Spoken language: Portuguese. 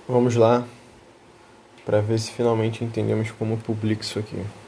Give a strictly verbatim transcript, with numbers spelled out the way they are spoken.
Vamos lá, para ver se finalmente entendemos como publico isso aqui.